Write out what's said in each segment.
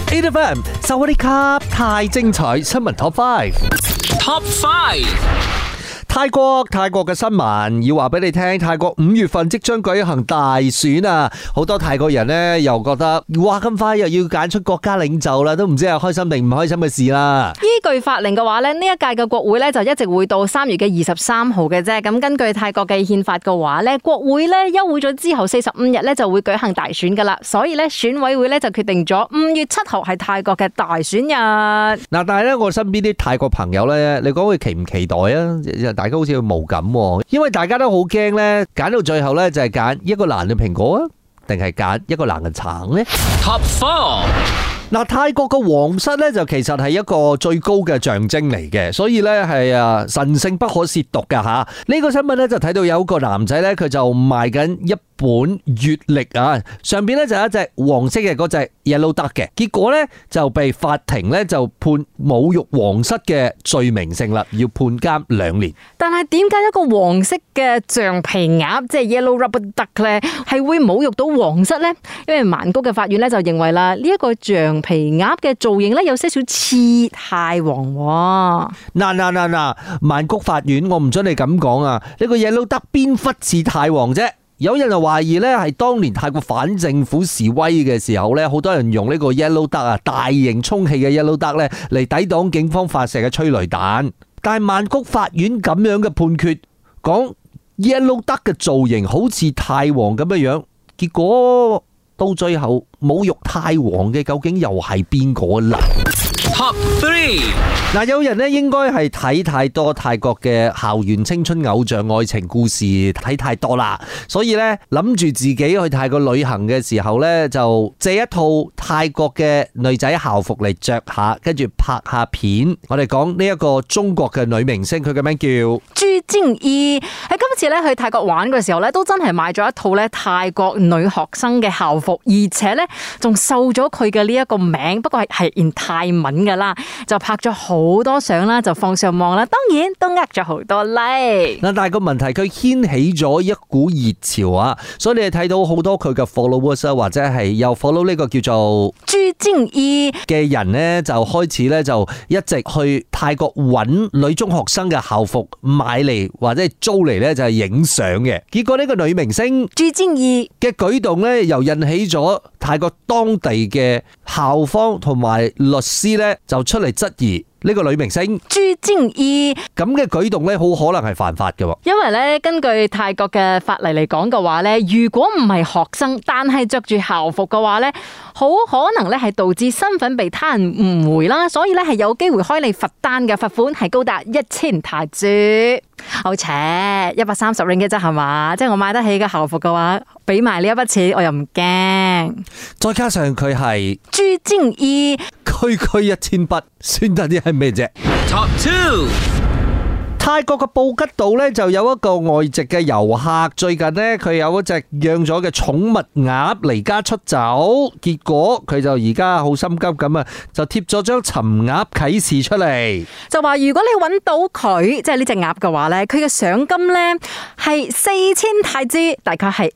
8FM 收我啲卡太精彩，新聞 Top 5。Top 5。泰國嘅新聞要話俾你聽，泰國5月份即將舉行大選啊！好多泰國人呢又覺得，哇咁快又要揀出國家領袖啦，都唔知係開心定唔開心嘅事啦。 依據法令嘅話呢，呢一屆嘅國會呢就一直會到3月嘅23號嘅啫。咁根據泰國嘅憲法嘅話呢，國會呢休會咗之後45日呢就會舉行大選噶啦。所以呢，選委會呢就決定咗5月7號係泰國嘅大選日。嗱， 但係呢，我身邊啲泰國朋友呢，你講佢期唔期待啊？大家好似無感，因為大家都好驚咧，揀到最後咧就係揀一個爛嘅蘋果啊，定係揀一個爛嘅橙呢？ Top 4。嗱，泰國嘅皇室咧就其實係一個最高嘅象徵嚟嘅，所以咧係神聖不可褻瀆㗎吓。呢個新聞咧就睇到有個男仔咧，佢就賣緊一本月曆啊，上邊咧就有一隻黃色嘅嗰隻 Yellow Duck 嘅，結果咧就被法庭咧就判侮辱皇室嘅罪名成立，要判監2年。 但係點解一個黃色嘅橡皮鴨，即係 Yellow Rubber Duck 咧，係會侮辱到皇室咧？因為曼谷嘅法院咧就認為啦，呢一個橡皮鴨嘅造型咧有些少似泰王。 嗱，曼谷法院我唔准你咁講啊！呢個 Yellow Duck 邊忽似泰王啫？有人就懷疑咧，係當年泰國反政府示威嘅時候咧，好多人用呢個 Yellow Duck 啊，大型充氣嘅 Yellow Duck 咧嚟抵擋警方發射嘅催淚彈。但係曼谷法院咁樣嘅判決，講 Yellow Duck 嘅造型好似泰王咁樣樣，結果到最後侮辱泰王嘅究竟又係邊個啦？Top 3。嗱，有人咧應該係睇太多泰國嘅校園青春偶像愛情故事，睇太多啦，所以咧諗住自己去泰國旅行嘅時候咧，就借一套泰國嘅女仔校服嚟着下，跟住拍下片。我哋講呢一個中國嘅女明星，佢嘅名叫朱晶意。喺今次咧去泰國玩嘅時候咧，都真係買咗一套咧泰國女學生嘅校服，而且咧仲秀咗佢嘅呢一個名，不過係in泰文噶啦，就拍咗好多相啦，就放上網啦，當然都呃咗好多 like。 嗱，但係個問題佢掀起咗一股熱潮啊，所以你哋睇到好多佢嘅 followers 啊，或者係又 follow 呢個叫做朱晶意嘅人呢，就開始咧就一直去泰國揾女中學生嘅校服買嚟或者係租嚟咧就係影相嘅。結果呢個女明星朱晶意嘅舉動咧，又引起咗泰國當地嘅校方同埋律師咧就出嚟質疑呢個女明星朱晶意咁嘅舉動咧，好可能係犯法嘅。 因為咧，根據泰國嘅法例嚟講嘅話咧，如果唔係學生，但係着住校服嘅話咧，好可能咧係導致身份被他人誤會啦，所以咧係有機會開你罰單嘅，罰款係高達1000泰銖。好扯，130 ringgit 啫係嘛？即係我買得起嘅校服嘅話，俾埋呢一筆錢，我又唔驚。 再加上佢係朱晶意， 區區1000筆，算得啲係咩啫 ？Top 2。泰國嘅布吉島咧就有一個外籍嘅遊客，最近呢，佢有一隻養咗嘅寵物鴨離家出走，結果佢就而家好心急咁啊，就貼咗張尋鴨啟事出嚟， 就話如果你揾到佢，即係呢隻鴨嘅話咧，佢嘅賞金咧係4000泰銖，大概係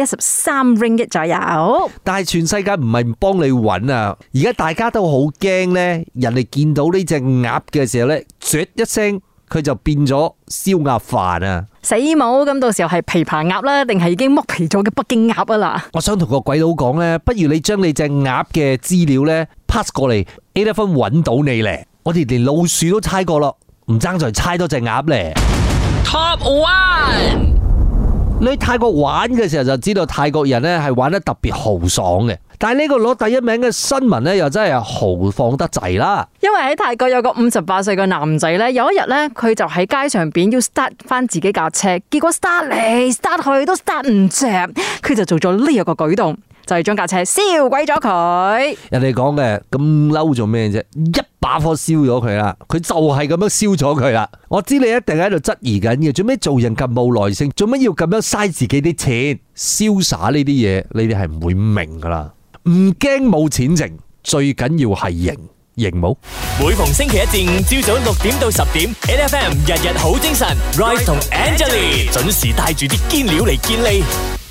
513 ringgit 左右。 但係全世界唔係唔幫你揾啊，而家大家都好驚咧，人哋見到呢隻鴨嘅時候咧，啜一聲。佢就變咗燒鴨飯啊！ 死冇咁，到時候係琵琶鴨啦，定係已經剝皮咗嘅北京鴨啊啦！ 我想同個鬼佬講咧，不如你將你隻鴨嘅資料咧 pass 過嚟 ，A 分揾到你咧，我哋連老鼠都猜過咯，唔爭在猜多隻鴨咧。Top 1。你去泰國玩嘅時候就知道泰國人咧係玩得特別豪爽嘅，但係呢個攞第一名嘅新聞咧又真係豪放得滯啦。 因為喺泰國有個58歲嘅男仔咧，有一日咧佢就喺街上邊要 start 翻自己架車，結果 start 嚟 start 去都 start 唔着，佢就做咗呢一個舉動，就係將架車燒鬼咗佢。人哋講嘅咁嬲做咩啫？一把火燒咗佢啦，佢就係咁樣燒咗佢啦。我知你一定喺度質疑緊嘅，做咩做人咁冇耐性？做乜要咁樣嘥自己啲錢？瀟灑呢啲嘢，你哋係唔會明噶啦。唔驚冇錢剩，最緊要係型，型冇？每逢星期一至五朝早6點到10點 ，8FM 日日好精神 ，Rise 同 Angelie 準時帶住啲堅料嚟見你。